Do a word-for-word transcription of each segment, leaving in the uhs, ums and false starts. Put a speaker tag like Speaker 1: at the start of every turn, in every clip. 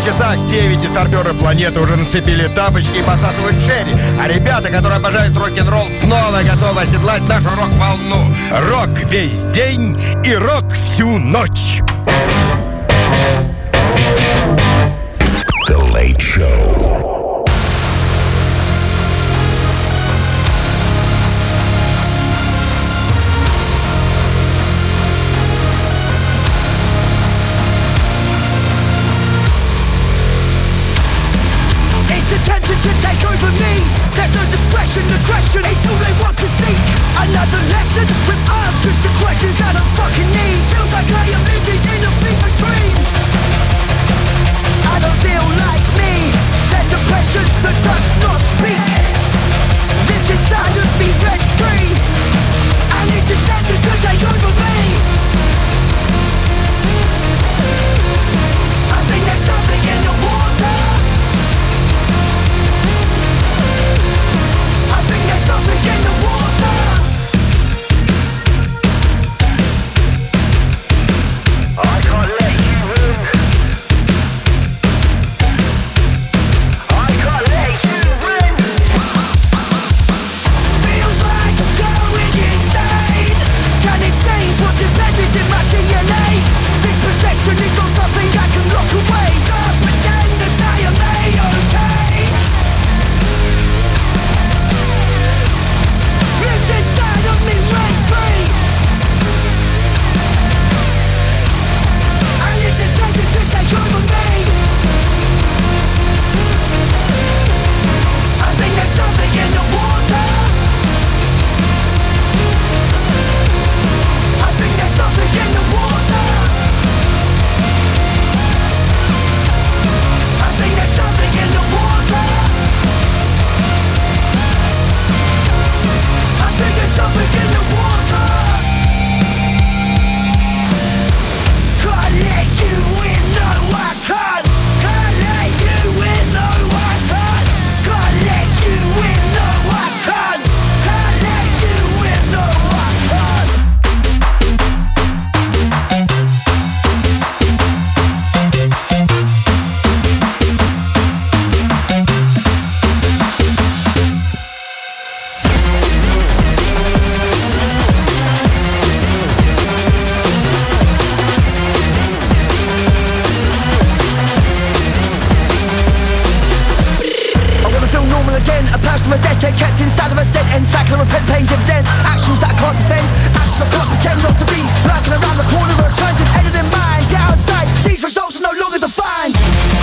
Speaker 1: часах девять, и старперы планеты уже нацепили тапочки и посасывают черри. А ребята, которые обожают рок-н-ролл, снова готовы оседлать нашу рок-волну. Рок весь день и рок всю ночь.
Speaker 2: The Late Show.
Speaker 3: Attempting to take over me. There's no discretion, aggression is all they want to seek. Another lesson with answers to questions I don't fucking need. Feels like I am living in a fever dream. I don't feel like me. There's oppressions that does not speak. Lives inside of me rent free, and it's attempting to take over me. I think there's something in the water. There's something in the water. I can't let you in. I can't let you in. Feels like I'm going insane. Can it change what's embedded in my D N A? This possession is not something I can lock away. Don't pretend that I am A-okay. Lives inside of me rent free, and it's attempting to take over me. I think there's something in the water. I think there's something in the water. I think there's something in the water. I think there's something in the water. Can't let you in, no I can't. Can't let you in, no I can't. Can't let you in, no I can't. Can't let you in, no I can't. Again, a person of a debt head kept inside of a dead end cycle of repent paying dividends. Actions that I can't defend, actions I can't pretend not to be. Lurking around the corner of a turned and ended in mind. Get outside, these results are no longer defined.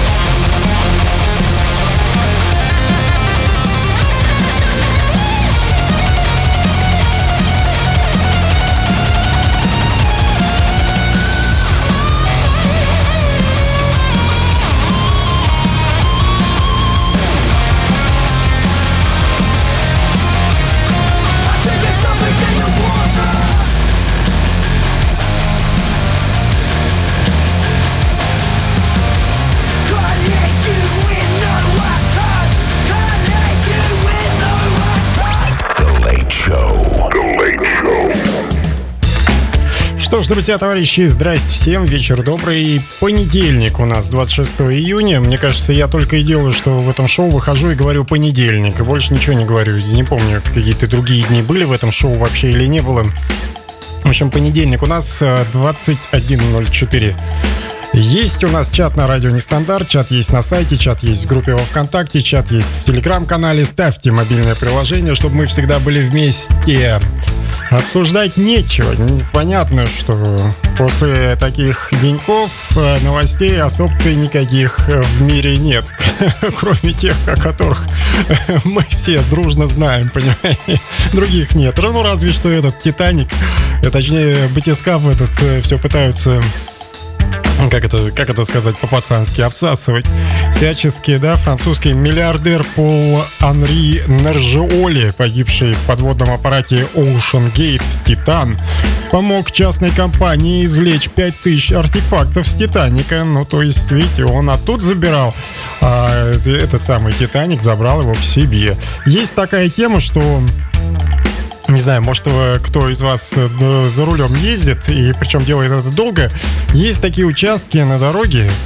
Speaker 4: Что ж, друзья, товарищи, здрасте всем, вечер добрый. Понедельник у нас, двадцать шестого июня. Мне кажется, я только и делаю, что в этом шоу выхожу и говорю понедельник, и больше ничего не говорю. Я не помню, какие-то другие дни были в этом шоу вообще или не было. В общем, понедельник у нас двадцать один ноль четыре. Есть у нас чат на радио Нестандарт, чат есть на сайте, чат есть в группе во ВКонтакте, чат есть в Телеграм-канале. Ставьте мобильное приложение, чтобы мы всегда были вместе. Обсуждать нечего. Понятно, что после таких деньков новостей особо-то никаких в мире нет. Кроме тех, о которых мы все дружно знаем, понимаете? Других нет. Ну, разве что этот «Титаник», точнее, батискаф этот, все пытаются... Как это, как это сказать по-пацански, обсасывать всячески, да, французский миллиардер Пол Анри Нержиоли, погибший в подводном аппарате Ocean Gate Titan, помог частной компании извлечь пять тысяч артефактов с Титаника. Ну, то есть, видите, он оттуда забирал, а этот самый Титаник забрал его к себе. Есть такая тема, что... Не знаю, может, кто из вас за рулем ездит, и причем делает это долго. Есть такие участки на дороге,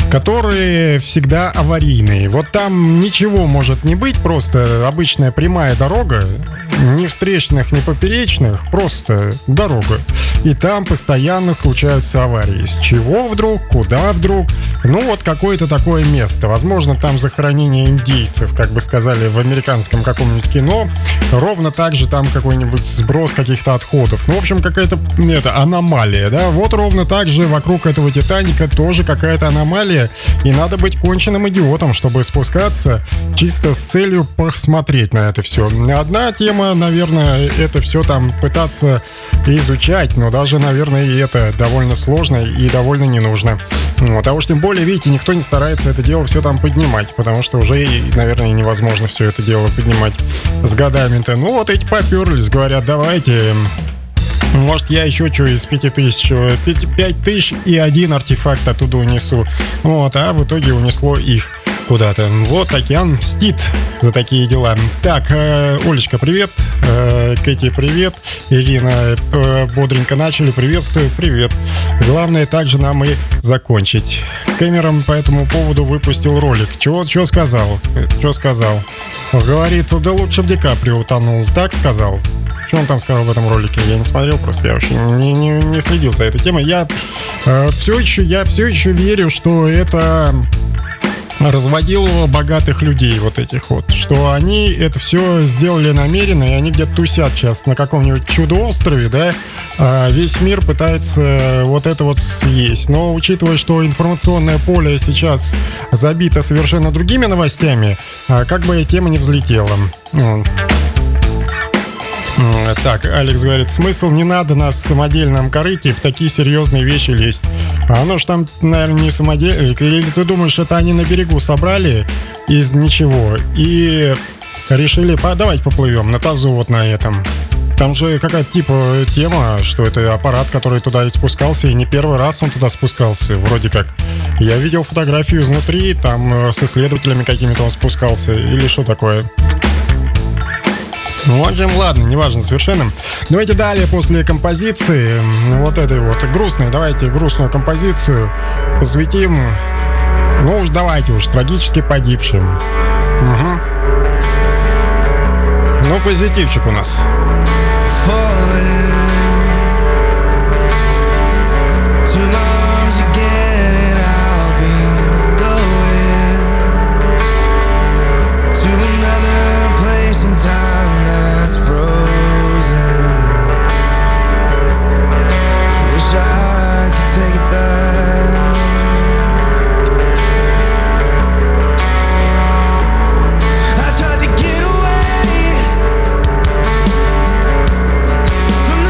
Speaker 4: которые всегда аварийные. Вот там ничего может не быть, просто обычная прямая дорога, ни встречных, ни поперечных, просто дорога. И там постоянно случаются аварии. С чего вдруг, куда вдруг? Ну вот какое-то такое место. Возможно, там захоронение индейцев, как бы сказали в американском каком-нибудь кино. Ровно так же там какой-нибудь сброс каких-то отходов. Ну, в общем, какая-то это, аномалия, да? Вот ровно так же вокруг этого Титаника тоже какая-то аномалия. И надо быть конченным идиотом, чтобы спускаться чисто с целью посмотреть на это все. Одна тема, наверное, это все там пытаться изучать, но даже, наверное, и это довольно сложно и довольно не нужно. Вот. А уж тем более, видите, никто не старается это дело все там поднимать, потому что уже, наверное, невозможно все это дело поднимать с годами-то. Ну вот эти поперлись, говорят, давайте... Может, я еще что из пяти тысяч, пять тысяч и один артефакт оттуда унесу. Вот, а в итоге унесло их куда-то. Вот океан мстит за такие дела. Так, э, Олечка, привет. Э, Кэти, привет. Ирина, э, бодренько начали. Приветствую, привет. Главное также нам и закончить. Кэмерон по этому поводу выпустил ролик. Чего, чего сказал? Что сказал? Говорит, да лучше бы Ди Каприо утонул. Так сказал? Что он там сказал в этом ролике? Я не смотрел, просто я вообще не, не, не следил за этой темой. Я, э, все еще, я все еще верю, что это разводилово богатых людей вот этих вот. Что они это все сделали намеренно, и они где-то тусят сейчас на каком-нибудь чудо-острове, да, а весь мир пытается вот это вот съесть. Но учитывая, что информационное поле сейчас забито совершенно другими новостями, как бы тема не взлетела. Так, Алекс говорит, смысл не надо на самодельном корыте в такие серьезные вещи лезть. А оно ж там, наверное, не самодельное. Или ты думаешь, это они на берегу собрали из ничего и решили, давайте поплывем на тазу вот на этом. Там же какая-то типа тема, что это аппарат, который туда и спускался, и не первый раз он туда спускался, вроде как. Я видел фотографию изнутри, там с исследователями какими-то он спускался, или что такое. Ну, в общем, ладно, неважно совершенно. Давайте далее, после композиции, вот этой вот грустной, давайте грустную композицию посвятим, ну уж давайте уж, трагически погибшим. Угу. Ну, позитивчик у нас.
Speaker 3: From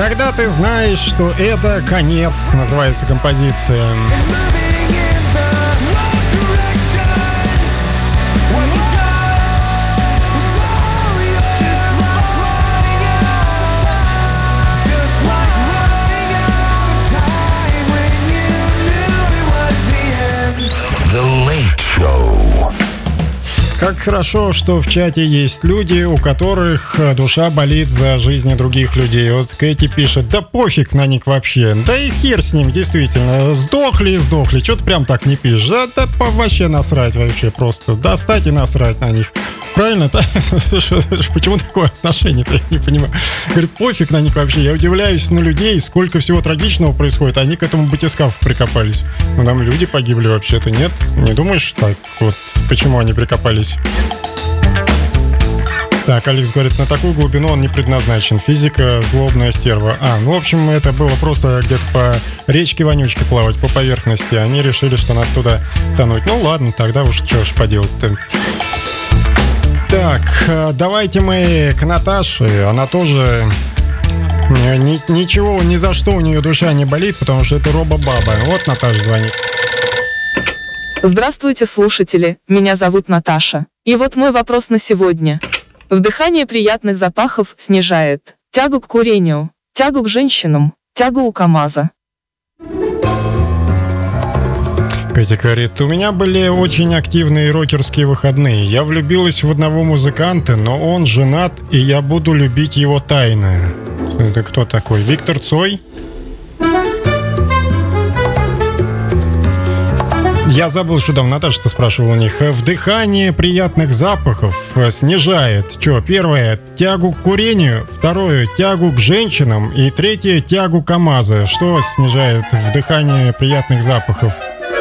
Speaker 4: Когда ты знаешь, что это конец, называется композиция.
Speaker 2: The Late Show.
Speaker 4: Как хорошо, что в чате есть люди, у которых душа болит за жизни других людей. Вот Кэти пишет: да пофиг на них вообще. Да и хер с ним, действительно. Сдохли и сдохли. Чё ты прям так не пишешь? Да, да вообще насрать вообще просто. Достать и насрать на них. Правильно? Почему такое отношение-то? Я не понимаю. Говорит, пофиг на них вообще. Я удивляюсь на людей, сколько всего трагичного происходит. Они к этому батискафу прикопались. Ну, там люди погибли вообще-то. Нет? Не думаешь так? Вот почему они прикопались? Так, Алекс говорит, на такую глубину он не предназначен. Физика — злобная стерва. А, ну, в общем, это было просто где-то по речке вонючке плавать, по поверхности. Они решили, что надо туда тонуть. Ну, ладно, тогда уж что ж поделать-то. Так, давайте мы к Наташе. Она тоже ни, ничего, ни за что у нее душа не болит, потому что это робо-баба. Вот Наташа звонит.
Speaker 5: Здравствуйте, слушатели. Меня зовут Наташа. И вот мой вопрос на сегодня. Вдыхание приятных запахов снижает тягу к курению, тягу к женщинам, тягу у КамАЗа.
Speaker 4: Катя говорит, у меня были очень активные рокерские выходные. Я влюбилась в одного музыканта, но он женат, и я буду любить его тайно. Это кто такой? Виктор Цой? Я забыл, что там Наташа-то спрашивала у них. Вдыхание приятных запахов снижает. Что, первое, тягу к курению, второе, тягу к женщинам, и третье, тягу к КамАЗа. Что снижает вдыхание приятных запахов?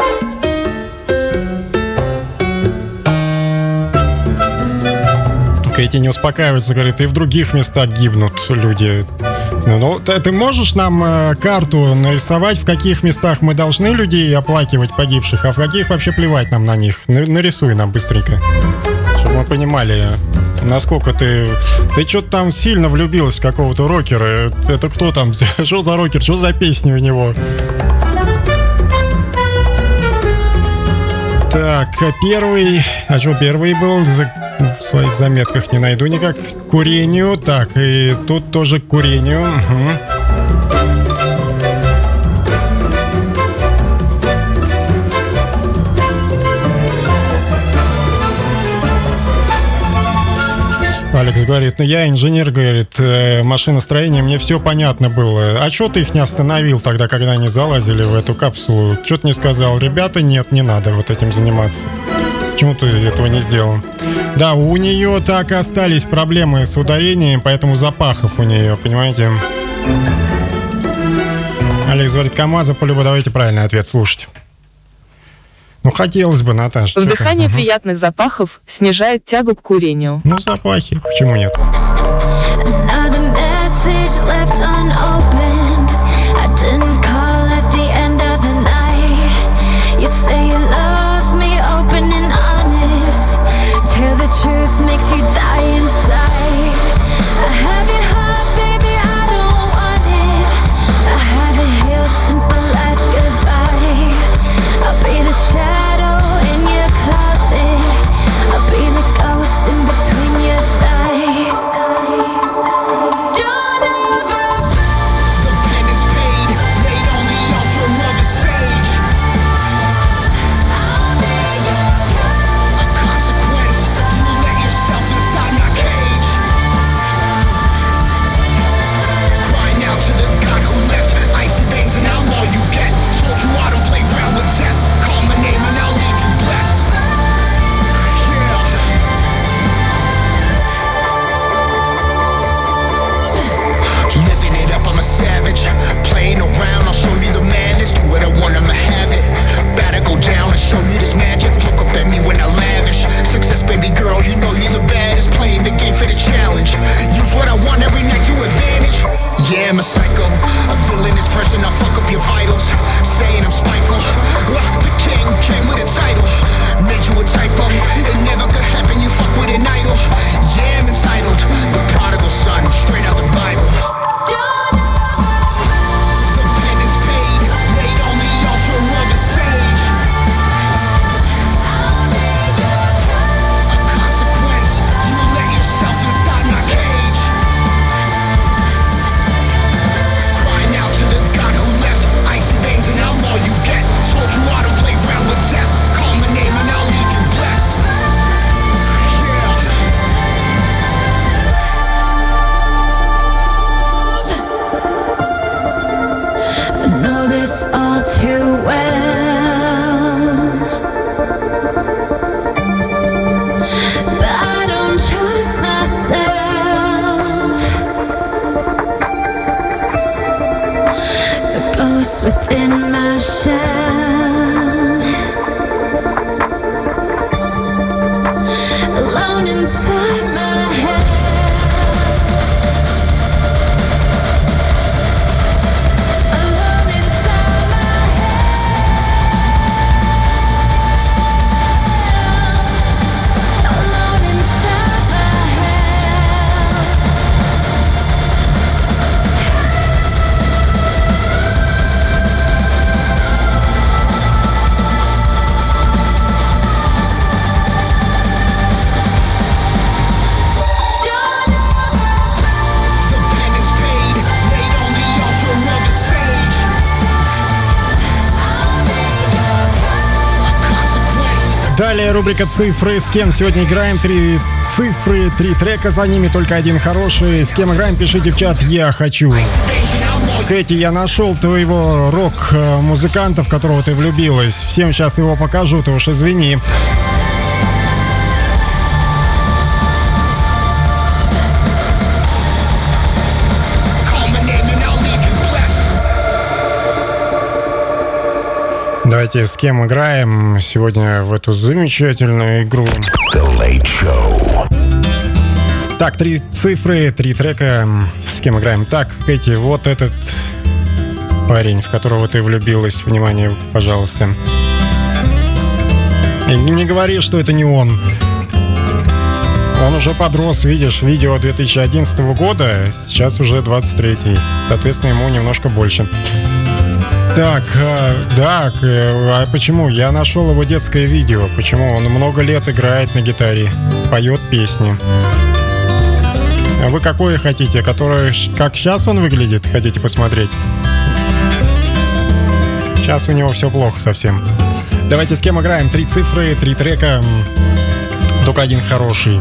Speaker 4: Кэти не успокаивается, говорит, и в других местах гибнут люди. Ну, ну ты, ты можешь нам э, карту нарисовать, в каких местах мы должны людей оплакивать погибших, а в каких вообще плевать нам на них? На, нарисуй нам быстренько, чтобы мы понимали, насколько ты... Ты что-то там сильно влюбилась в какого-то рокера. Это кто там? Что за рокер? Что за песни у него? Так, первый... А что первый был? В своих заметках не найду никак. К курению. Так, и тут тоже к курению. Угу. Алекс говорит, ну я инженер, говорит, э, машиностроение, мне все понятно было. А что ты их не остановил тогда, когда они залазили в эту капсулу? Что ты не сказал? Ребята, нет, не надо вот этим заниматься. Почему ты этого не сделал? Да, у нее так и остались проблемы с ударением, поэтому запахов у нее, понимаете? Алекс говорит, КамАЗа полюбу, давайте правильный ответ слушать. Ну, хотелось бы, Наташа.
Speaker 5: Вдыхание приятных запахов снижает тягу к курению.
Speaker 4: Ну, запахи, почему нет?
Speaker 6: Truth makes you die inside. I have your heart, baby, I don't want it. I haven't healed since my last goodbye. I'll be the shadow in your closet. I'll be the ghost in between your thighs. Don't ever
Speaker 4: Далее рубрика «Цифры». С кем сегодня играем? Три цифры, три трека, за ними только один хороший. С кем играем? Пишите в чат «Я хочу». Кэти, я нашел твоего рок-музыканта, в которого ты влюбилась. Всем сейчас его покажу, ты уж извини. Давайте с кем играем сегодня в эту замечательную игру.
Speaker 2: The Late Show.
Speaker 4: Так, три цифры, три трека. С кем играем? Так, Кэти, вот этот парень, в которого ты влюбилась. Внимание, пожалуйста. И не говори, что это не он. Он уже подрос, видишь, видео две тысячи одиннадцатого года, сейчас уже двадцать третий. Соответственно, ему немножко больше. Так, да, а почему? Я нашел его детское видео. Почему? Он много лет играет на гитаре, поет песни. А вы какое хотите? Которое, как сейчас он выглядит, хотите посмотреть? Сейчас у него все плохо совсем. Давайте с кем играем? Три цифры, три трека, только один хороший.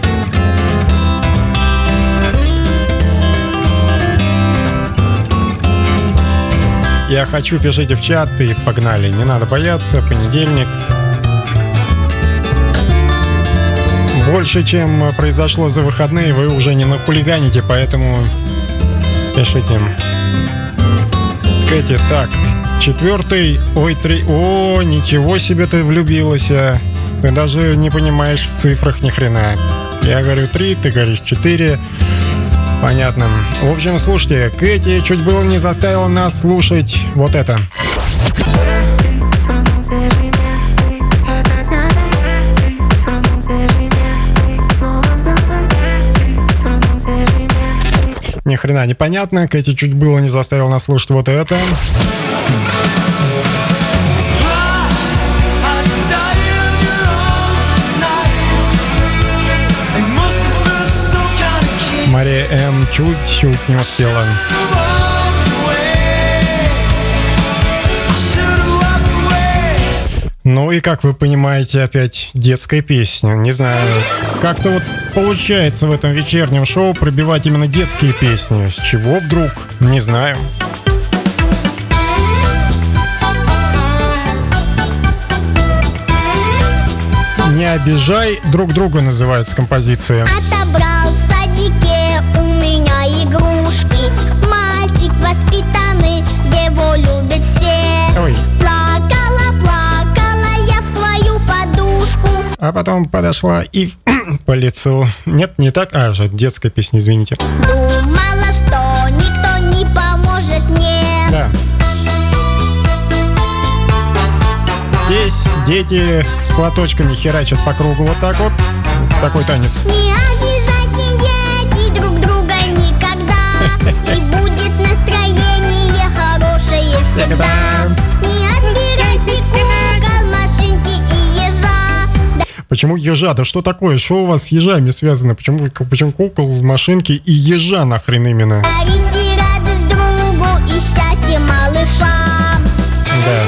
Speaker 4: Я хочу, пишите в чат и погнали. Не надо бояться, понедельник. Больше, чем произошло за выходные, вы уже не нахулиганите, поэтому пишите. Кэти, так, четвертый, ой, три, о, ничего себе ты влюбилась. Ты даже не понимаешь в цифрах ни хрена. Я говорю три, ты говоришь четыре. Понятно. В общем, слушайте, Кэти чуть было не заставила нас слушать вот это. Ни хрена непонятно. Кэти чуть было не заставила нас слушать вот это. Мария М. чуть-чуть не успела. Ну и, как вы понимаете, опять детская песня. Не знаю, как-то вот получается в этом вечернем шоу пробивать именно детские песни. С чего вдруг? Не знаю. «Не обижай друг друга» называется композиция.
Speaker 7: Отобрал в садике у меня игрушки. Мальчик воспитанный, его любят все.
Speaker 4: Ой.
Speaker 7: Плакала, плакала я в свою подушку.
Speaker 4: А потом подошла и по лицу. Нет, не так. А, же детская песня, извините.
Speaker 7: Думала, что никто не поможет мне.
Speaker 4: Да. Здесь дети с платочками херачат по кругу вот так вот. Такой танец.
Speaker 7: Не обижайте друг друга никогда. И будет настроение хорошее всегда. Не отбирайте кукол, машинки и ежа.
Speaker 4: Почему ежа? Да что такое? Что у вас с ежами связано? Почему, почему кукол, машинки и ежа нахрен именно?
Speaker 7: Дарите радость другу и счастье малышам.
Speaker 4: Да.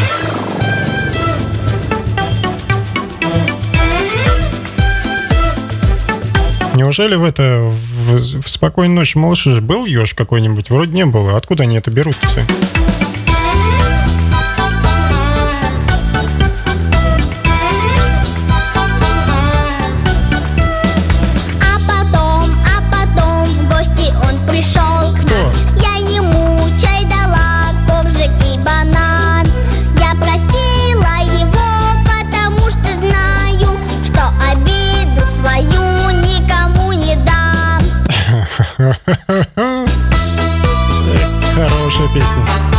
Speaker 4: Неужели в это в, в «Спокойной ночи, малыши» был еж какой-нибудь? Вроде не было. Откуда они это берут-то?
Speaker 7: А потом, а потом в гости он пришел.
Speaker 4: Кто?
Speaker 7: Я ему чай дала, коржик и банан. Я простила его, потому что знаю, что обиду свою никому не дам.
Speaker 4: Хорошая песня.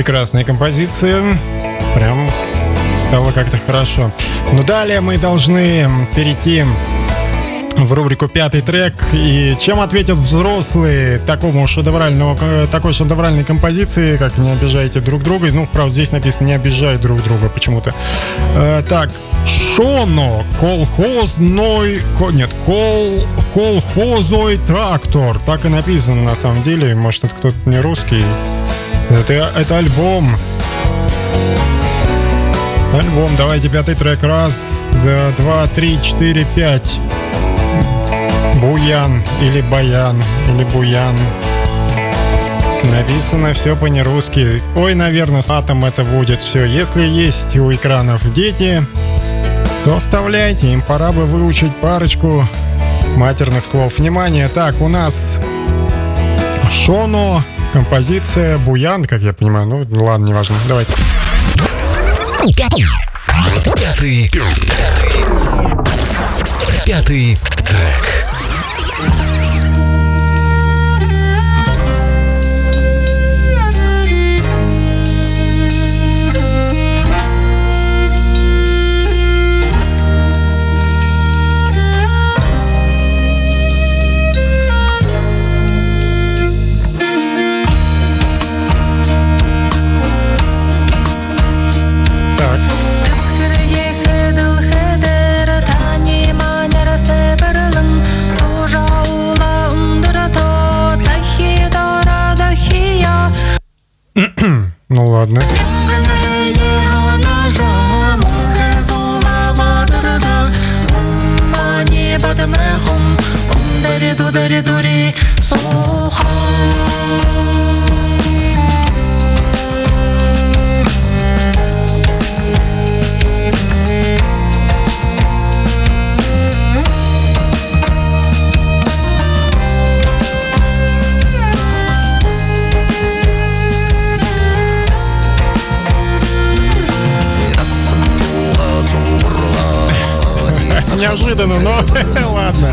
Speaker 4: Прекрасная композиция. Прям стало как-то хорошо. Но далее мы должны перейти в рубрику «Пятый трек». И чем ответят взрослые такому шедевральному, такой шедевральной композиции, как «Не обижайте друг друга». Ну, правда, здесь написано «Не обижай друг друга» почему-то. Э, так, Шоно, колхозной... Нет, кол, колхозой трактор. Так и написано на самом деле. Может, это кто-то не русский. Это, это альбом. Альбом. Давайте пятый трек. Раз, два, три, четыре, пять. Буян или Баян или Буян. Написано все по-нерусски. Ой, наверное, с матом это будет все. Если есть у экранов дети, то оставляйте. Им пора бы выучить парочку матерных слов. Внимание, так, у нас Шоно, композиция Буян, как я понимаю. Ну, ладно, неважно. Давайте.
Speaker 2: Пятый. Пятый трек.
Speaker 4: Ну ладно. Неожиданно, но ладно.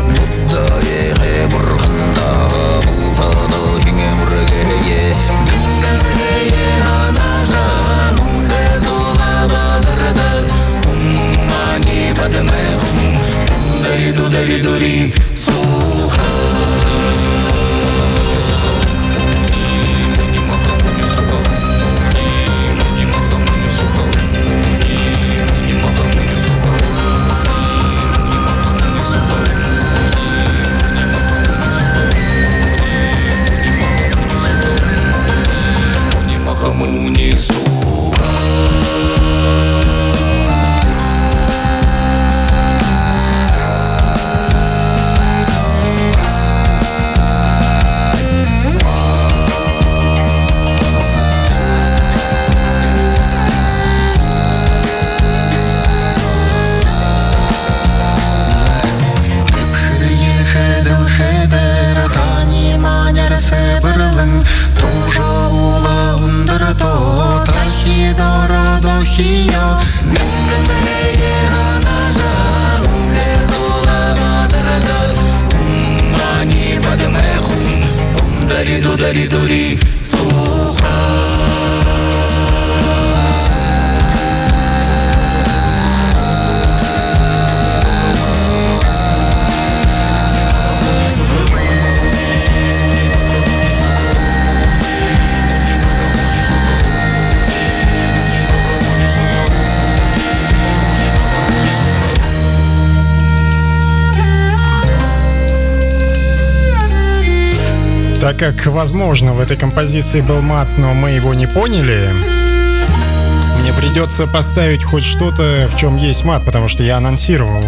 Speaker 4: Так как, возможно, в этой композиции был мат, но мы его не поняли, мне придется поставить хоть что-то, в чем есть мат, потому что я анонсировал.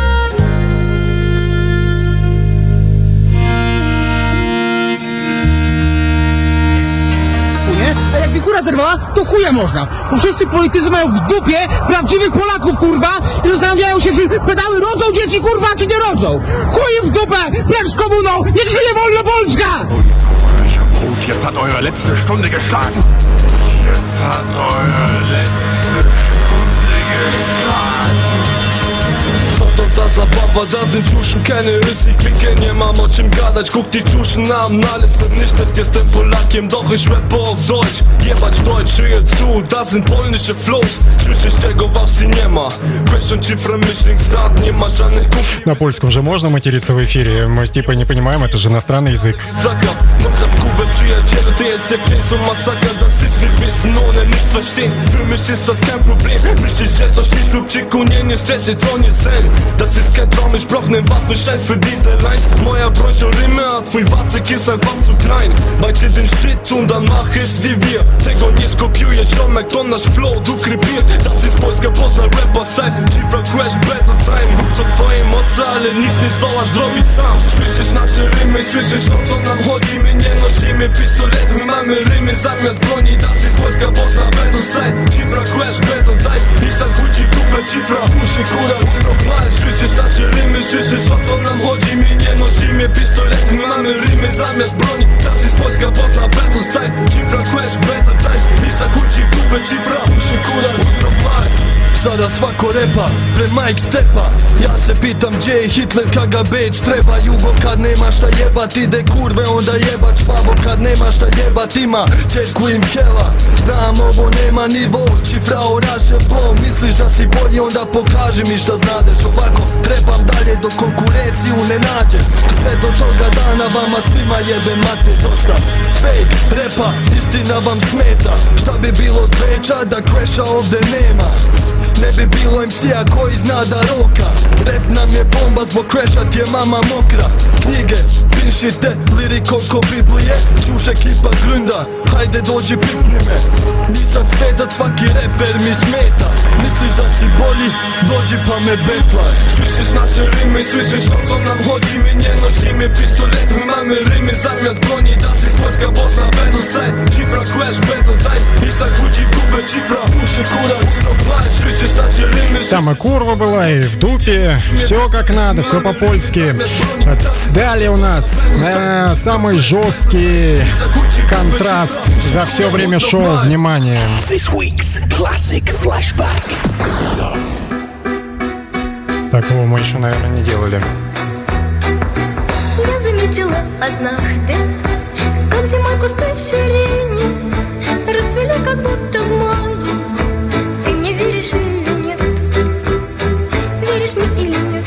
Speaker 8: A jak wichura zerwała, to chuja można. Bo wszyscy politycy mają w dupie prawdziwych Polaków, kurwa, i zastanawiają się, czy pedały rodzą dzieci, kurwa, czy nie rodzą. Chuj w dupę, precz z komuną, niech żyje wolno Polska!
Speaker 2: Gut, jetzt hat eure letzte Stunde geschlagen. Jetzt hat eure letzte Stunde geschlagen.
Speaker 9: to za zabawa, da sind Tschuschen, keine Rüssi, Klicke, nie mam o czym gadać. Guck die Tschuschen an, alles vernichtet, jestem Polakiem, doch ich rappe auf Deutsch. Jebać Deutsch, höre zu, da sind polnische Flows. Słyszysz czego w Австрии nie ma. Question цифра myślnik zad, nie ma żadnych kuf.
Speaker 4: На польском же можно материться в эфире? Мы типа не понимаем, это же иностранный язык.
Speaker 9: Zagrab, morda w Kubę, przyjacielu, ty jest jak Jason Massaker. Das ist, wir wissen, ohne nichts verstehen. Für mich ist das kein Problem. Myślisz, że to się szybciku, nie, niestety to nie sen. Das ist kein Traum, ich brauch nen Waffenschein für diese Lines. Moja broń to Rymy, a twój Wacyk jest einfach zu klein. Bajcie den Shit und dann mach es wie wir. Tego nie skopiujesz, ziomek, to nasz flow, du krypierst. Das ist polska, Poznań, rapper style. Cifra, crash, battle time. Rób co w twojej mocy, ale nic nie zdoła zrobić sam. Słyszysz nasze rymy, słyszysz o co nam chodzi. My nie nosimy pistoletów, my mamy rymy zamiast broni. Das ist polska, Poznań, battle style. Cifra, crash, battle time. I zakłóci w dupę cifra, puszy kura, cynow mal. Słyszysz nasze rymy, słyszysz o co nam chodzi. My nie nosimy pistoletów, my mamy rymy zamiast broni. Das ist polska, Poznań, battle style. Cifra, crash, battle time. I zakłóci w dupę cifra, puszy kura, cynow mal. Sada svako repa, pre Mike Stepa. Ja se pitam gdje je Hitler, kad ga Beč treba. Jugo kad nema šta jebat, ide kurve onda jebat špabo. Kad nema šta jebat ima čerku im hela. Znam ovo nema nivo, cifra oraše flow. Misliš da si bolji, onda pokaži mi šta znadeš. Ovako repam dalje dok konkurenciju ne nađem. Sve do toga dana vama svima jebe mate dosta. Fake repa, istina vam smeta. Šta bi bilo s Beča da crasha ovde nema? Ne bi bilo em ce-a koji zna da roka. Rap nam je bomba, zbog crasha ti je mama mokra. Knjige, pišite, lirik oko Biblije. Čuš ekipa grunda, hajde dođi pipni me. Nisam svetac, svaki reper mi smeta. Misliš da si bolji, dođi pa me betlaj. Słyszysz nasze rymy, słyszysz o co nam chodzi. My nie nosimy pistolet, my mamy rymy zamiast broni. Das ist polska, Poznań, battle style. Cifra, crash, battle time. I zakłóci w kupę cifra, puszy kura, cynow mal. Słyszysz nasze rymy.
Speaker 4: Там и курва была, и в дупе. Все как надо, все по-польски. Далее у нас, наверное, самый жесткий контраст за все время шоу. Внимание.
Speaker 3: This week's classic flashback.
Speaker 4: Такого мы еще, наверное, не делали.
Speaker 6: Я заметила однажды, как зимой кусты сирени расцвели, как будто в мае. Ты мне веришь или нет? Веришь мне или нет?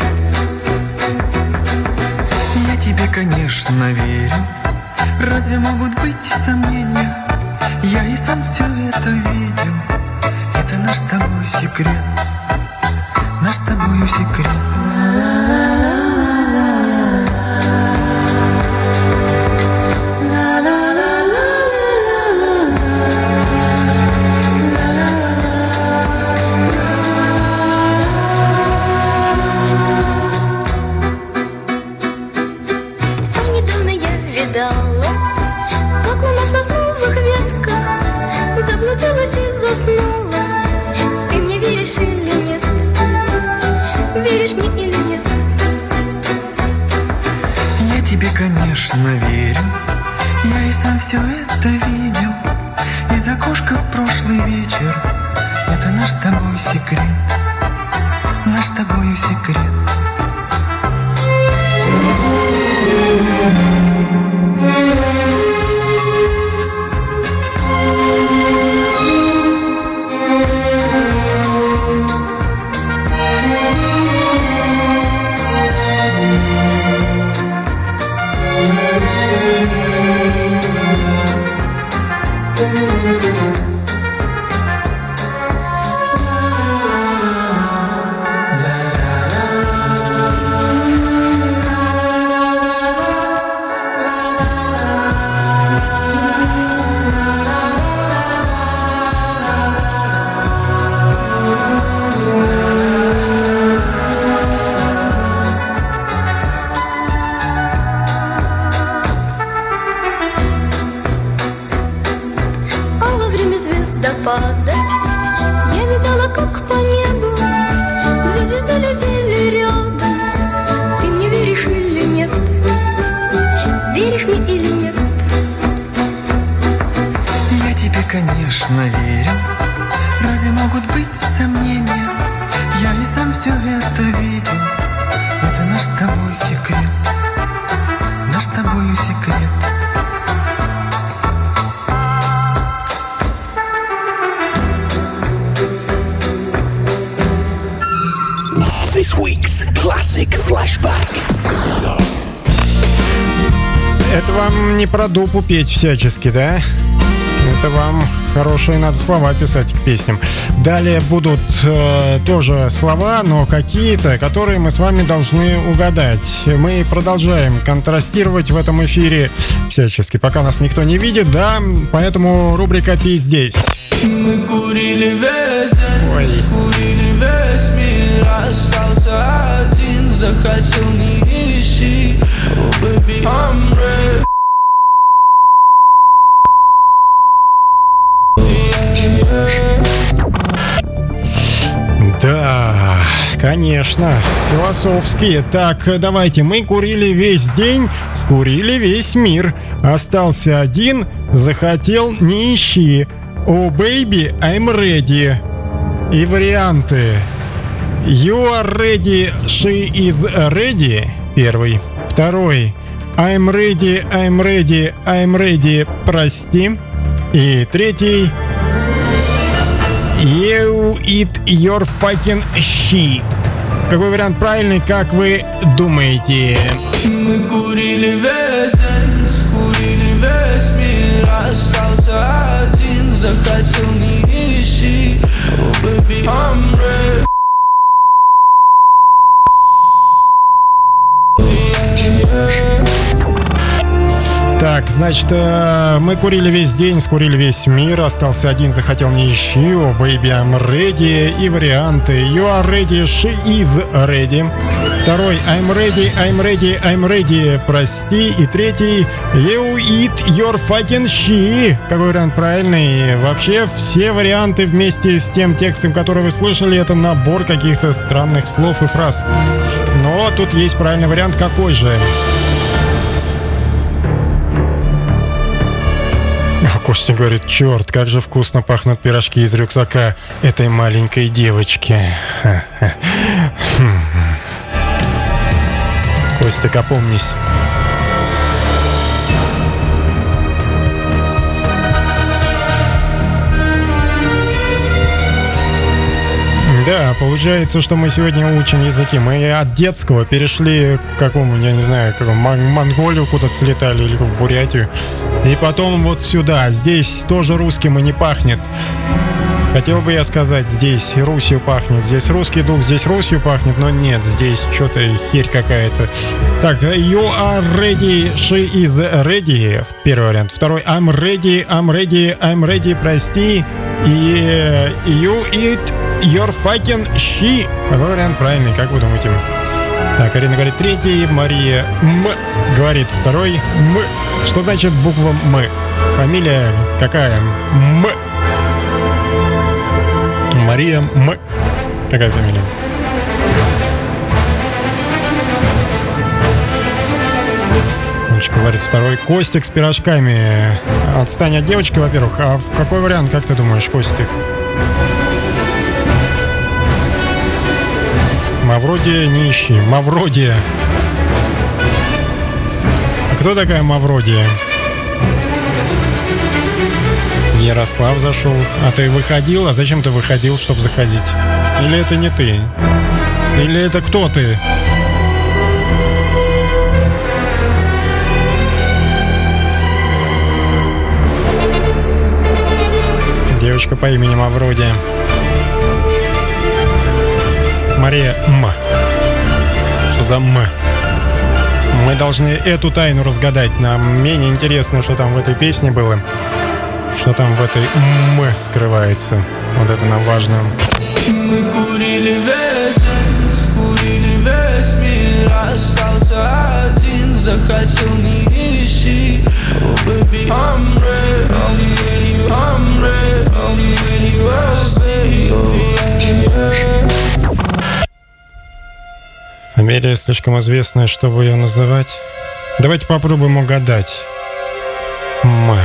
Speaker 10: Я тебе, конечно, верю. Разве могут быть сомнения? Я и сам все это видел. Это наш с тобой секрет. Наш с тобою секрет.
Speaker 6: Недавно я видала, как на наш сосновых ветках заблудилась и заснула. Ты мне веришь или нет? Веришь мне или нет?
Speaker 10: Я тебе, конечно, верю. Я и сам все это видел. Из окошка в прошлый вечер. Это наш с тобой секрет. Наш с тобою секрет.
Speaker 6: звездопада. Я видала, как по небу две звезды летели рядом. Ты мне веришь или нет? Веришь мне или нет?
Speaker 10: Я тебе, конечно, верю. Разве могут быть сомнения? Я и сам все это видел.
Speaker 11: Music Flashback.
Speaker 4: Это вам не про дупу петь всячески, да? Это вам хорошие надо слова писать к песням. Далее будут э, тоже слова, но какие-то, которые мы с вами должны угадать. Мы продолжаем контрастировать в этом эфире всячески, пока нас никто не видит, да? Поэтому рубрика «Пей здесь».
Speaker 12: Мы курили весь день, курили весь мир, остался один, захотел не ищи. Oh baby, I'm ready.
Speaker 4: Да, конечно, философские. Так, давайте, мы курили весь день, скурили весь мир. Остался один, захотел не ищи. Oh baby, I'm ready. И варианты. You are ready, she is ready. Первый. Второй. I'm ready, I'm ready, I'm ready, прости. И третий. You eat your fucking shit. Какой вариант правильный, как вы думаете?
Speaker 12: Мы курили весь день, скурили весь мир, остался один, захотел не ищи. Oh baby, I'm ready.
Speaker 4: Так, значит, э, мы курили весь день, скурили весь мир, остался один, захотел не ищи, oh baby, I'm ready. И варианты. You are ready, she is ready. Второй. I'm ready, I'm ready, I'm ready, прости. И третий. You eat your fucking shit. Какой вариант правильный? Вообще, все варианты вместе с тем текстом, который вы слышали, это набор каких-то странных слов и фраз. Но тут есть правильный вариант. Какой же? Костя говорит: черт, как же вкусно пахнут пирожки из рюкзака этой маленькой девочки. Костик, опомнись. Да, получается, что мы сегодня учим языки. Мы от детского перешли к какому, я не знаю, к Монголию куда-то слетали или в Бурятию. И потом вот сюда. Здесь тоже русским и не пахнет. Хотел бы я сказать, здесь Русью пахнет. Здесь русский дух, здесь Русью пахнет. Но нет, здесь что-то херь какая-то. Так, you are ready, she is ready. Первый вариант. Второй, I'm ready, I'm ready, I'm ready, прости. И you eat your fucking shit. Какой вариант правильный, как вы думаете? Так, Арина говорит третий, Мария М говорит второй, М. Что значит буква М? Фамилия какая? М. Мария М. Какая фамилия? Девочка говорит второй. Костик с пирожками. Отстань от девочки, во-первых. А какой вариант, как ты думаешь, Костик? Мавродия не ищи. Мавродия. А кто такая Мавродия? Ярослав зашел. А ты выходил? А зачем ты выходил, чтобы заходить? Или это не ты? Или это кто ты? Девочка по имени Мавродия. Мария М. Что за М? Мы должны эту тайну разгадать. Нам менее интересно, что там в этой песне было. Что там в этой М скрывается. Вот это нам важно.
Speaker 12: Мы курили весь день, скурили весь мир, остался один, захотел не ищи. Oh baby, I'm ready, I'm ready, I'm ready, I'm ready, oh baby.
Speaker 4: Фамилия слишком известная, чтобы ее называть. Давайте попробуем угадать. М.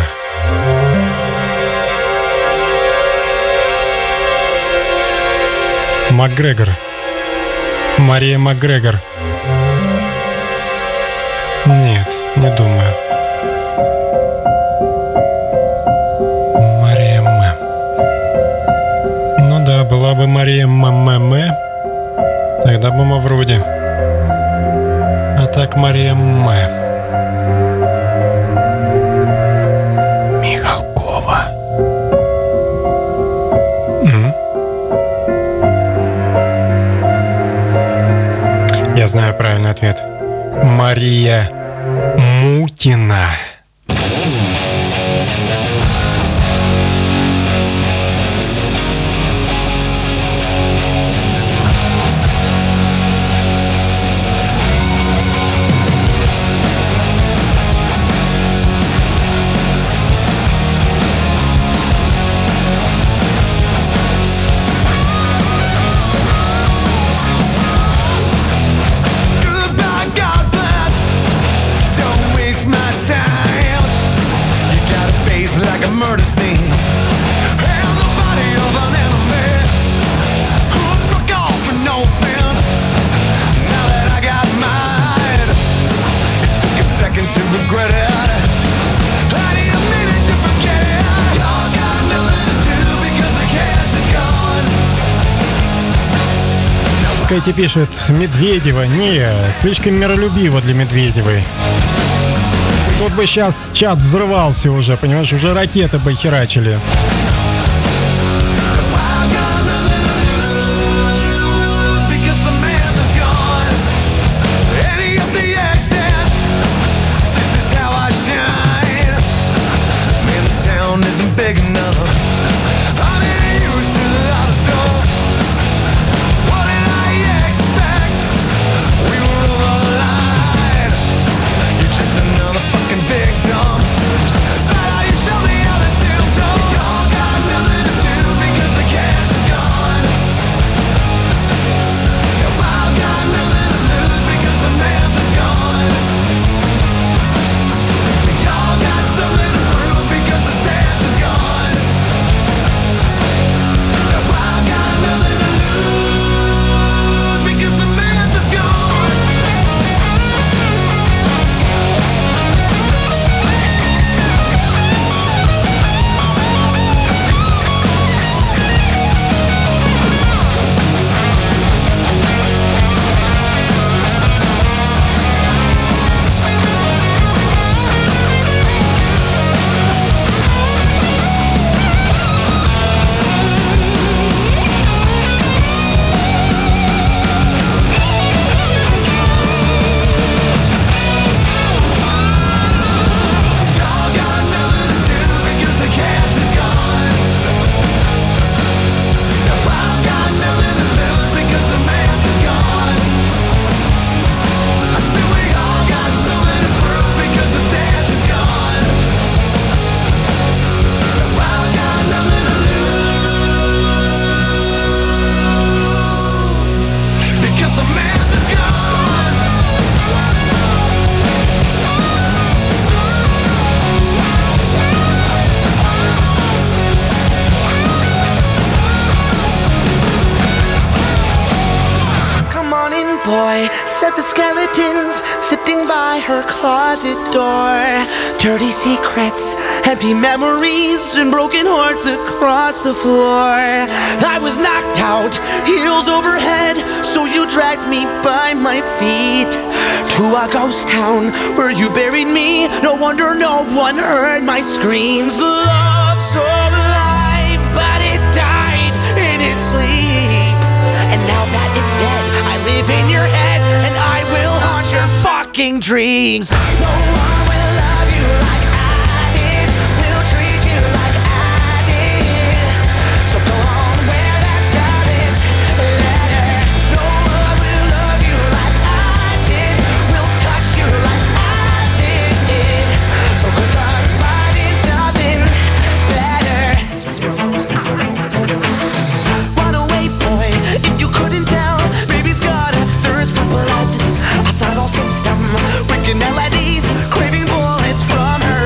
Speaker 4: Макгрегор. Мария Макгрегор. Нет, не думаю. Мария М. Ну да, была бы Мария М. Тогда бы Мавроди. так, Мария М. Михалкова. М? Я знаю правильный ответ. Мария Мутина. Кэти пишет: Медведева, не, слишком миролюбиво для Медведевой. Тут бы сейчас чат взрывался уже, понимаешь, уже ракеты бы херачили.
Speaker 3: Said the skeletons sitting by her closet door. Dirty secrets, empty memories, and broken hearts across the floor. I was knocked out, heels overhead, so you dragged me by my feet to a ghost town where you buried me. No wonder no one heard my screams. Love so alive, but it died in its sleep. And now that it's dead, I live in your head, and I will haunt your fucking dreams. No one will love you like I did, will treat you like I did. So go on where that started, let her. No one will love you like I did, will touch you like I did. So good luck finding something better. Run away, boy, if you couldn't tell. Baby's got a thirst for blood, a subtle system, wicked melodies, craving bullets from her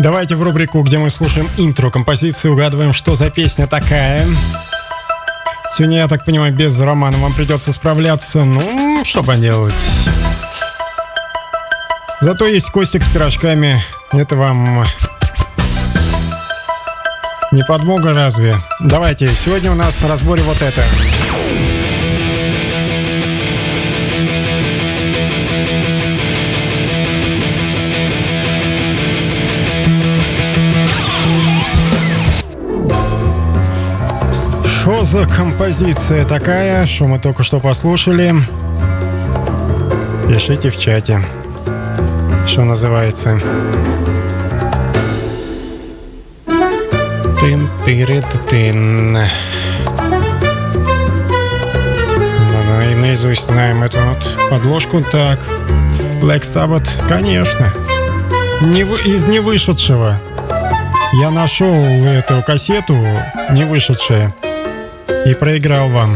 Speaker 4: Давайте в рубрику, где мы слушаем интро композиции, угадываем, что за песня такая. Сегодня, я так понимаю, без Романа вам придется справляться. Ну, что поделать. Зато есть Костик с пирожками. Это вам не подмога разве? Давайте, сегодня у нас на разборе вот это. Что за композиция такая, что мы только что послушали? Пишите в чате, что называется. Тын-тыры-тын. И наизусть знаем эту вот подложку. Так, Black Sabbath, конечно. Не вы, из невышедшего. Я нашел эту кассету, не вышедшая, и проиграл вам.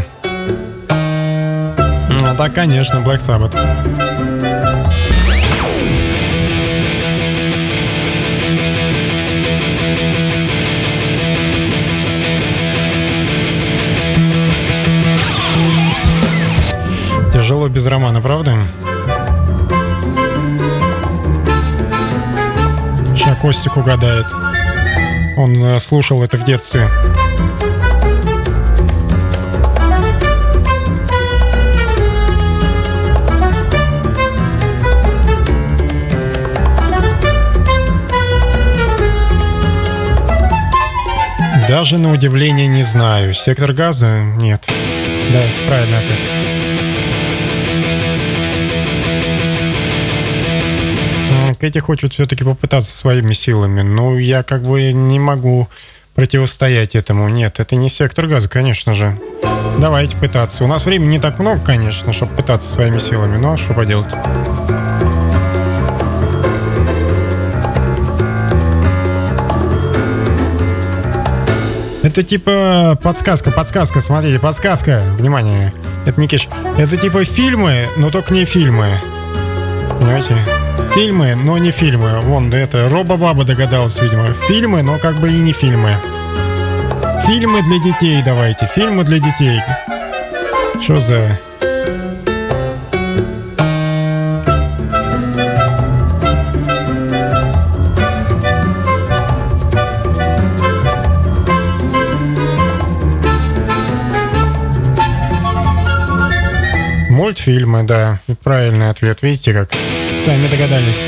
Speaker 4: Ну да, конечно, Black Sabbath. Тяжело без Романа, правда? Сейчас Костик угадает. Он слушал это в детстве. Даже на удивление не знаю. Сектор газа? Нет. Да, это правильный ответ. Кэти хочет все-таки попытаться своими силами. Но я как бы не могу противостоять этому. Нет, это не сектор газа, конечно же. Давайте пытаться. У нас времени не так много, конечно, чтобы пытаться своими силами. Но что поделать. Это типа подсказка, подсказка, смотрите, подсказка. Внимание, это не киш. Это типа фильмы, но только не фильмы. Понимаете? Фильмы, но не фильмы. Вон, да это Робо-Баба догадалась, видимо. Фильмы, но как бы и не фильмы. Фильмы для детей давайте, фильмы для детей. Что за... Мультфильмы, да, правильный ответ. Видите, как сами догадались.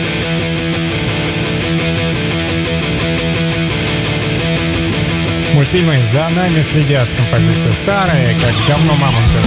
Speaker 4: Мультфильмы «За нами следят». Композиция старая, как говно мамонта.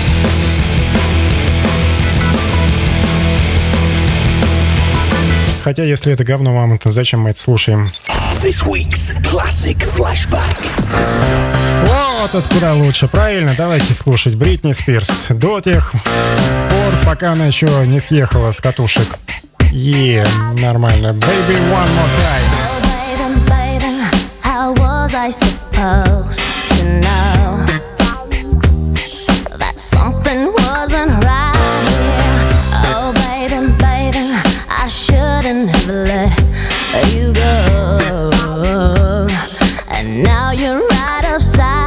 Speaker 4: Хотя, если это говно мамонта, зачем мы это слушаем?
Speaker 11: This week's classic flashback.
Speaker 4: Вот откуда лучше, правильно? Давайте слушать Бритни Спирс до тех пор, пока она еще не съехала с катушек. Е, yeah, нормально. Baby, one more time.
Speaker 6: Oh, baby, baby, how was I supposed to know that something wasn't right here? Oh, baby, baby, I shouldn't have let you go. And now you're right upside.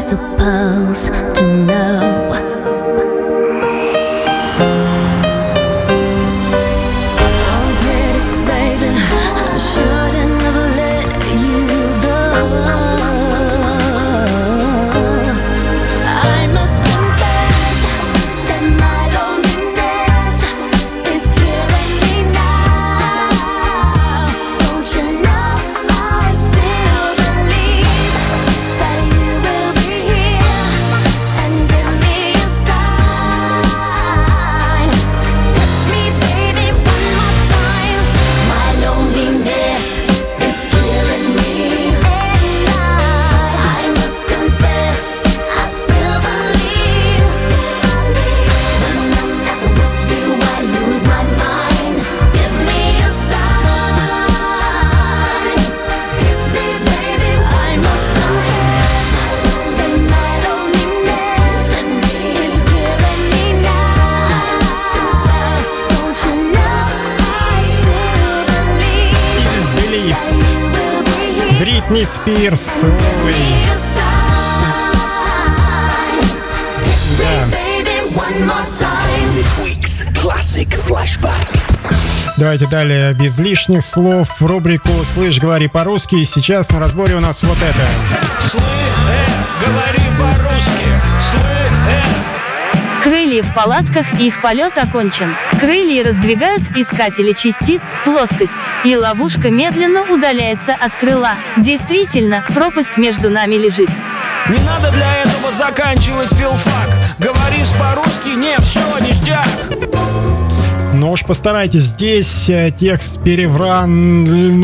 Speaker 6: supposed to know?
Speaker 4: Бритни Спирс. Ой. Да. Давайте далее без лишних слов в рубрику «Слышь, говори по-русски». И сейчас на разборе у нас вот это.
Speaker 12: Слышь, э, говори по-русски. Слышь, э.
Speaker 13: Крылья в палатках, их полет окончен. Крылья раздвигают искатели частиц, плоскость, и ловушка медленно удаляется от крыла. Действительно, пропасть между нами лежит.
Speaker 12: Не надо для этого заканчивать филфак. Говоришь по-русски, нет, все, ништяк.
Speaker 4: Ну уж постарайтесь, здесь текст перевран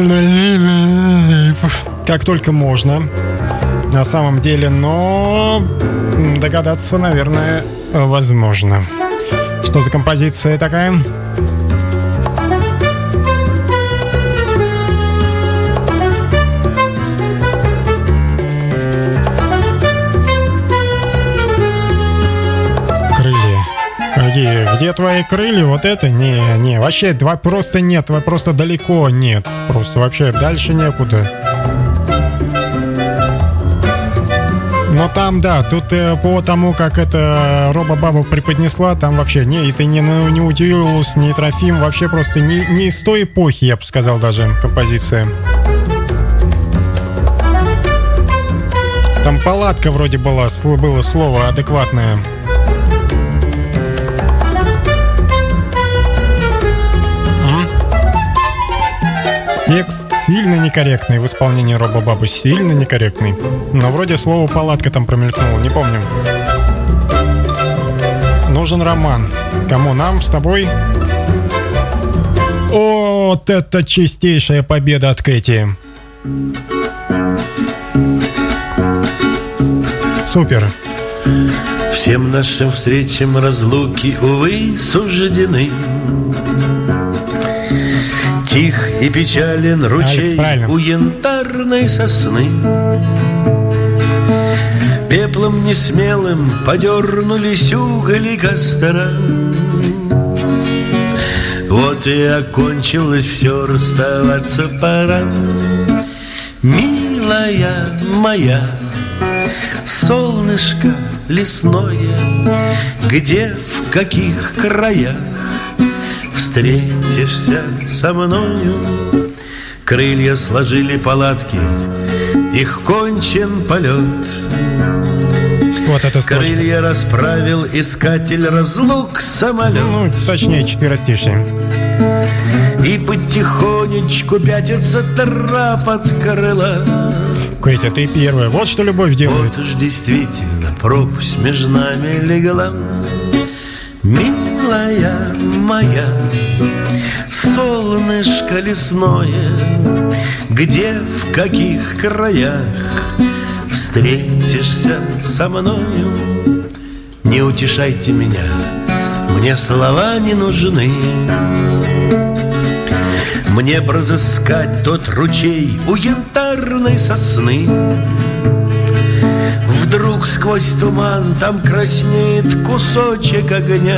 Speaker 4: как только можно. На самом деле, но догадаться, наверное, возможно. Что за композиция такая? Где, где твои крылья? Вот это? Не, не, вообще два просто нет, просто далеко нет. Просто вообще дальше некуда. Но там, да, тут э, по тому, как это Робобаба преподнесла, там вообще не, это не, не Утилус, не Трофим, вообще просто не, не из той эпохи, я бы сказал, даже композиция. Там палатка вроде была, было слово адекватное. Текст сильно некорректный в исполнении Робобабы, сильно некорректный. Но вроде слово «палатка» там промелькнуло, не помню. Нужен роман. Кому? Нам с тобой? О, вот это чистейшая победа от Кэти. Супер.
Speaker 14: Всем нашим встречам разлуки, увы, суждены. Тих и печален ручей
Speaker 4: Алекс,
Speaker 14: у янтарной сосны. Пеплом несмелым подернулись угли костра. Вот и окончилось все, расставаться пора. Милая моя, солнышко лесное, где, в каких краях встретишься со мною? Крылья сложили палатки, их кончен полет.
Speaker 4: Вот это строчка.
Speaker 14: Крылья расправил искатель разлук самолет.
Speaker 4: Ну, точнее, четверостишие.
Speaker 14: И потихонечку пятится трап от крыла.
Speaker 4: Катя, ты первая. Вот что любовь делает.
Speaker 14: Вот уж действительно пропасть между нами легла. Милая моя, солнышко лесное, где, в каких краях встретишься со мною? Не утешайте меня, мне слова не нужны. Мне б разыскать тот ручей у янтарной сосны. Вдруг сквозь туман там краснеет кусочек огня.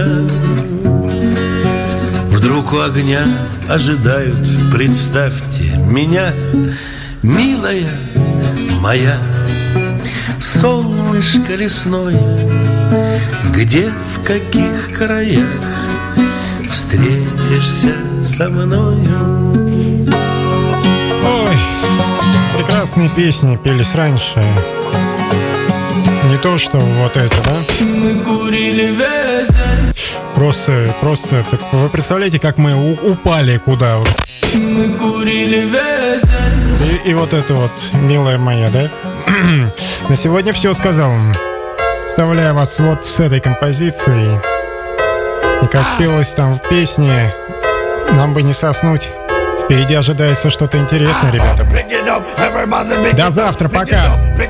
Speaker 14: Вдруг у огня ожидают, представьте, меня. Милая моя, солнышко лесное, где, в каких краях встретишься со мною?
Speaker 4: Ой, прекрасные песни пелись раньше. Не то, что вот это, да?
Speaker 12: Мы курили весь день.
Speaker 4: Просто, просто, так вы представляете, как мы у- упали куда?
Speaker 12: Мы курили весь день.
Speaker 4: И, и вот это вот, милая моя, да? На сегодня все сказал. Оставляю вас вот с этой композицией. И как пелось там в песне, нам бы не соснуть. Впереди ожидается что-то интересное, ребята. До завтра, пока.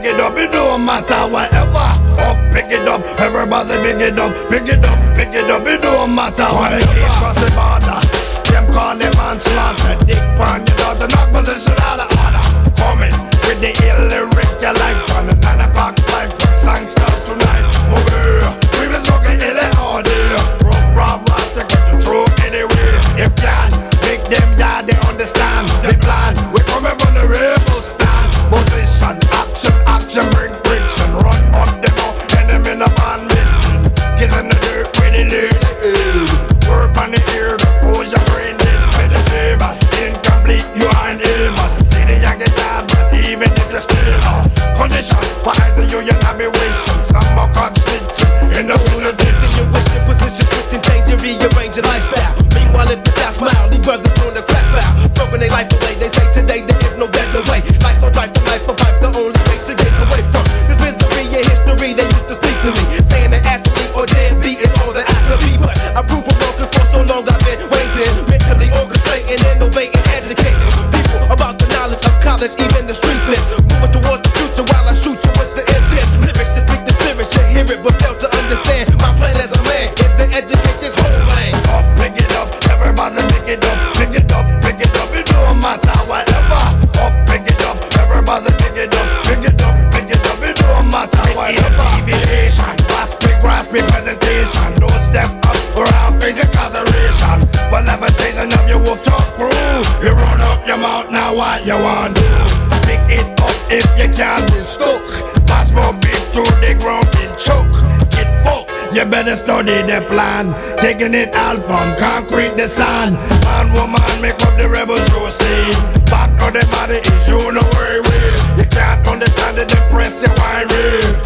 Speaker 15: Them, yeah, they understand the plan. We coming from the rebel stand. Position, action, action, bring friction. Run up them out, enemy in a man missing. Kiss in the dirt with the lead. Work on the ear before your brain dead. Vegetable, incomplete, you ain't ill. See the young get down, but even if you're still uh, condition, for eyes of you, you're not be wishing. Some more cut stitching in the wilderness.
Speaker 9: You wish your position, switching, changing, rearrange your lifestyle. Meanwhile, if it's that smile, these brothers doing the crap foul, smoking their life away. They say today there is no better way. Life's so drive to life, a pipe, the only way to get away from this misery and history. They used to speak to me, saying that athlete or deadbeat is all that I could be. But I prove them wrong, cause for so long I've been waiting, mentally orchestrating, innovating, educating people about the knowledge of college, even the street sense. Moving towards the future while I shoot you with the intense lyrics to speak the spirit. You hear it, but fail to understand my plan as a man is to educate this whole land.
Speaker 15: Up, pick it up, everybody pick it up, pick it up, pick it up. It don't matter whatever. Up, pick it up, everybody pick it up, pick it up, pick it up. It don't matter whatever. Deviation, grasping, grasping presentation. Don't step up around face incarceration. For levitation of your wolf talk crew, you run up your mouth now. What you want to do? Pick it up if you can't be stuck. Pass more beat to the ground and choke. Get fucked. You better study the plan. Taking it all from concrete to sand. Man, woman, make up the rebels you see. Back of the body is you no worry with. You can't understand it, depress you wine real.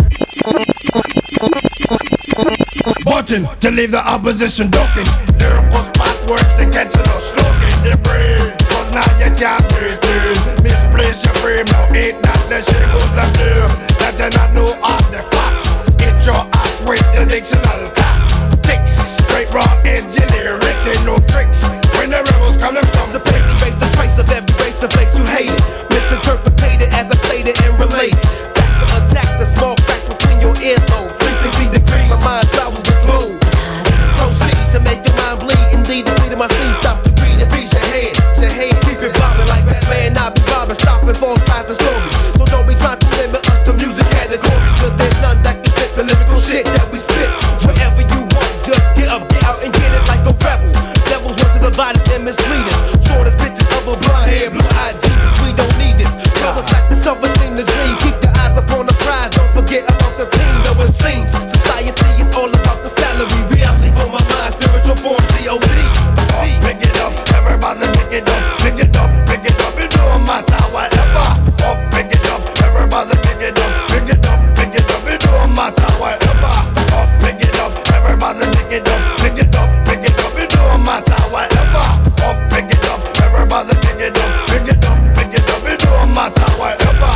Speaker 15: Button to leave the opposition ducking. Lyrical spot worse than catching or slugging the brain. Cause now you can't breathe in. Misplace your frame, now ain't that the shit goes up there. That you not know all the facts. Get your ass with the dictionary tactics. Straight raw engineering, ain't no tricks. When the rebels coming from
Speaker 9: the place, erase the trace of every race of place you hated. Misinterpreted as I stated and related. That's the attack, the small cracks between your earlobes. three sixty degree, my mind travels the globe. Proceed to make your mind bleed. Indeed, the freedom I see, stop to breathe and freeze your head. Your head, keep it bobbing like Batman, not be robbing, stopping false lies and stories. So don't be trying to limit us to music categories, cause there's none that can fit the lyrical shit that we spit. Wherever you want, just get up, get out and get it like a rebel. Devils want to divide us and mislead us. Shortest pictures of a blonde hair, blue-eyed Jesus, we don't need this. Brothers like the self-esteem, the dream. Keep your eyes upon the prize, don't forget about the team. Though it seems society is all about the salary. Reality for my mind, spiritual form, G O D.
Speaker 15: Pick it up, everybody pick it up, pick it up, pick it up. It don't matter whatever. Up, pick it up, everybody pick it up, pick it up, pick it up. It don't matter whatever. Up, pick it up, everybody pick it up, pick it up, pick it up. It don't matter whatever. Up, pick it up, everybody pick it up, pick it up, pick it up. It don't matter whatever.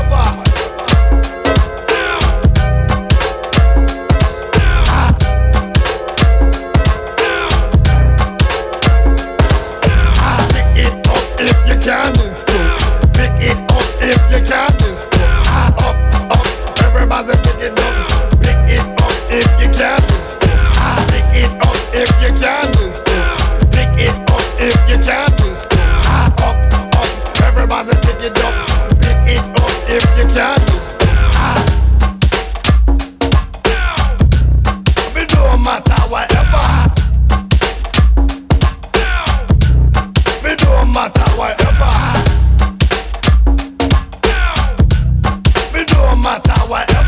Speaker 15: If you can stop, pick it up if you can stop. Up, up, everybody pick it up. Pick it up if you can stop. Pick it up if you can stop. Pick it up if you can stop. Up, up, everybody pick it up. Pick it up if you can stop. It don't matter whatever. It don't matter whatever. It don't matter whatever.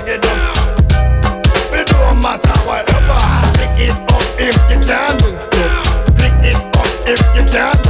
Speaker 15: pick it up. It don't matter whatever. Pick it up if you can't do stuff. Pick it up if you can't